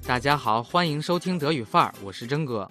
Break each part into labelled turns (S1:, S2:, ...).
S1: 大家好，欢迎收听德语范儿，我是真哥。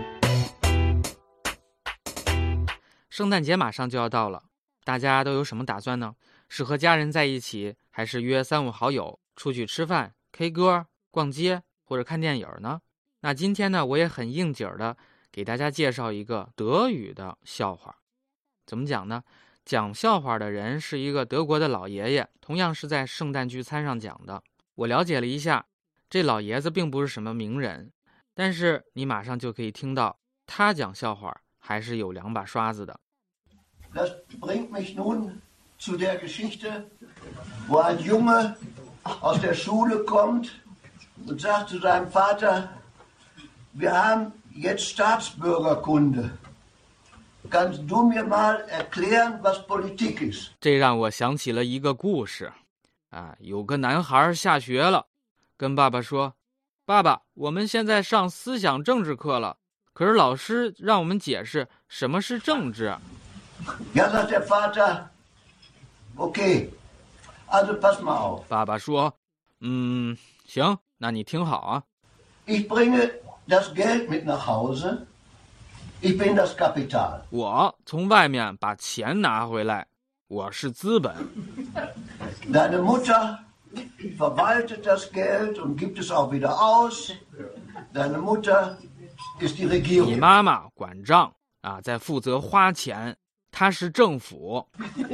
S1: 圣诞节马上就要到了，大家都有什么打算呢？是和家人在一起，还是约3-5好友出去吃饭、K 歌、逛街或者看电影呢？那今天呢，我也很应景的给大家介绍一个德语的笑话。怎么讲呢？讲笑话的人是一个德国的老爷爷，同样是在圣诞聚餐上讲的。我了解了一下，这老爷子并不是什么名人，但是你马上就可以听到他讲笑话还是有2把刷子的。
S2: Das bringt mich nun zu der Geschichte, wo ein Junge aus der Schule kommt und sagt zu seinem Vater, wir haben jetzt Staatsbürgerkunde. Kannst du mir mal erklären, was Politik ist?
S1: 这让我想起了一个故事有个男孩下学了，跟爸爸说，爸爸，我们现在上思想政治课了，可是老师让我们解释什么是政治。
S2: Ja, sagt der Vater, okay, also pass mal auf.
S1: 爸爸说，行，那你听好啊。
S2: Ich bringe das Geld mit nach Hause. Ich bin das Kapital.
S1: 我从外面把钱拿回来，我是资本。
S2: Deine Mutter verwaltet das Geld und gibt es auch wieder aus. Deine Mutter ist die
S1: 你
S2: Regierung.
S1: 妈妈管账在负责花钱，她是政府。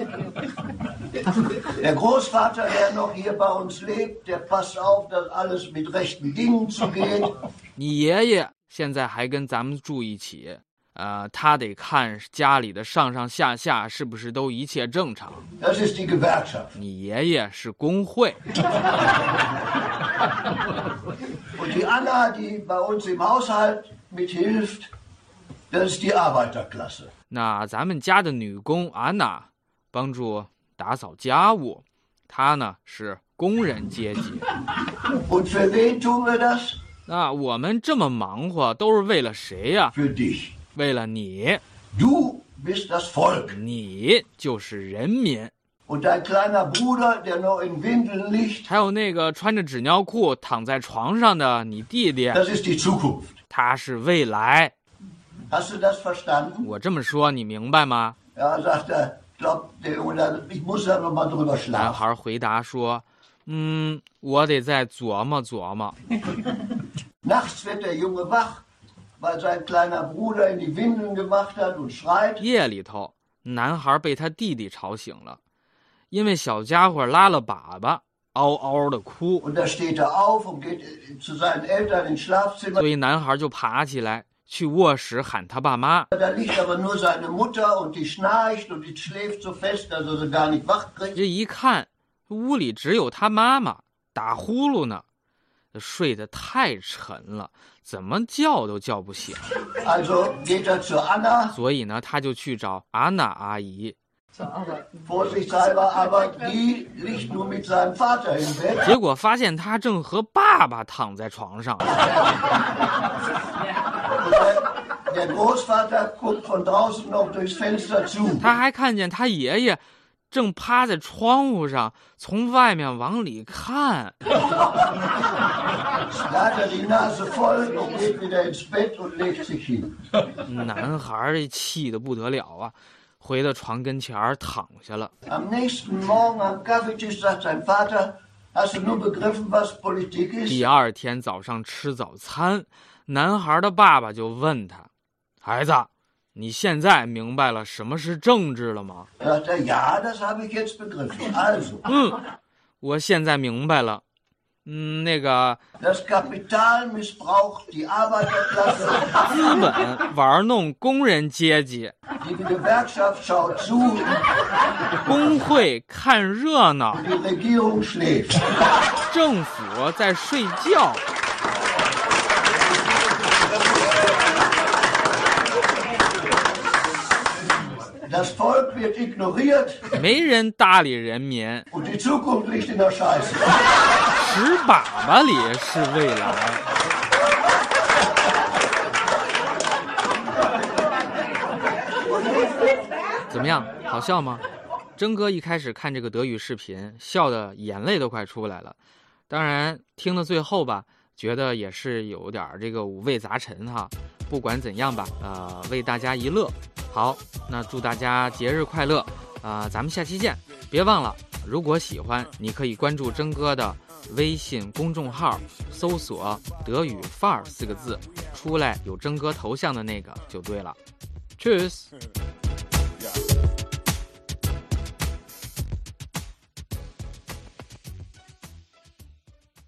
S2: Der Großvater, der noch hier bei uns lebt, der passt auf, dass alles mit rechten Dingen zugeht.
S1: 你爷爷现在还跟咱们住一起，他得看家里的上上下下是不是都一切正常。
S2: Das ist die Gewerkschaft.
S1: 你爷爷是工会。
S2: Und die Anna, die bei uns im Haushalt mithilft, das ist die Arbeiterklasse.
S1: 那咱们家的女工安娜帮助打扫家务，她呢是工人阶级。
S2: Und für wen tun wir das?
S1: 那我们这么忙活都是为了谁呀？
S2: Für dich.
S1: 为了你，
S2: Du bist das Volk.
S1: 你就是人民。
S2: Und dein kleiner Bruder, der noch in Windeln liegt,
S1: 还有那个穿着纸尿裤躺在床上的你弟弟，
S2: das ist die Zukunft.
S1: 他是未来。
S2: Hast du das verstanden?
S1: 我这么说你明白吗？
S2: Ja, sagt er, glaubt der Junge, ich muss da noch mal drüber
S1: 男
S2: schlafen.
S1: 孩回答说，我得再琢磨琢磨。
S2: Nachts wird der Junge wach, weil sein kleiner Bruder in die Windeln gemacht hat und schreit.
S1: 夜里头，男孩被他弟弟吵醒了，因为小家伙拉了粑粑，嗷嗷的哭，
S2: Und da steht er auf und geht zu seinen Eltern ins Schlafzimmer.
S1: 所以男孩就爬起来去卧室喊他爸妈。
S2: Da liegt aber nur seine Mutter und die schnarcht und die schläft so fest, dass er sie gar nicht wach kriegt.
S1: 这一看，屋里只有他妈妈打呼噜呢，睡得太沉了，怎么叫都叫不醒。
S2: Also geht er zur Anna,
S1: 所以呢，他就去找安娜阿姨。
S2: vorsichtshalber, aber die liegt nur mit seinem Vater im Bett.
S1: 结果发现他正和爸爸躺在床上。
S2: Der Großvater guckt von draußen noch durchs Fenster zu.
S1: 他还看见他爷爷正趴在窗户上，从外面往里看。
S2: Da hat er die Nase voll und geht wieder ins Bett und legt sich hin.
S1: 男孩这气得不得了啊，回到床跟前儿躺下了。
S2: Am nächsten Morgen am Kaffeetisch sagt sein Vater, hast du nun begriffen, was Politik ist?
S1: 第二天早上吃早餐，男孩的爸爸就问他：“孩子，你现在明白了什么是政治了吗？”
S2: Sagt er, ja, das habe ich jetzt begriffen. Also,
S1: 我现在明白了。那个
S2: das Kapital missbraucht die Arbeiterklasse,
S1: 资本玩弄工人阶级，
S2: die Gewerkschaft schaut zu,
S1: 工会看热闹，
S2: die Regierung schläft.
S1: 政府在睡觉。
S2: Das Volk wird ignoriert
S1: 没人搭理人民，
S2: und die Zukunft liegt in der Scheiße.
S1: 屎粑粑里是未来。怎么样，好笑吗？真哥一开始看这个德语视频，笑得眼泪都快出来了。当然，听到最后吧， 觉得也是有点这个五味杂陈哈。不管怎样吧，为大家一乐。好，那祝大家节日快乐，咱们下期见。别忘了，如果喜欢，你可以关注征哥的微信公众号，搜索德语范儿4个字，出来有征哥头像的那个就对了。Tschüss。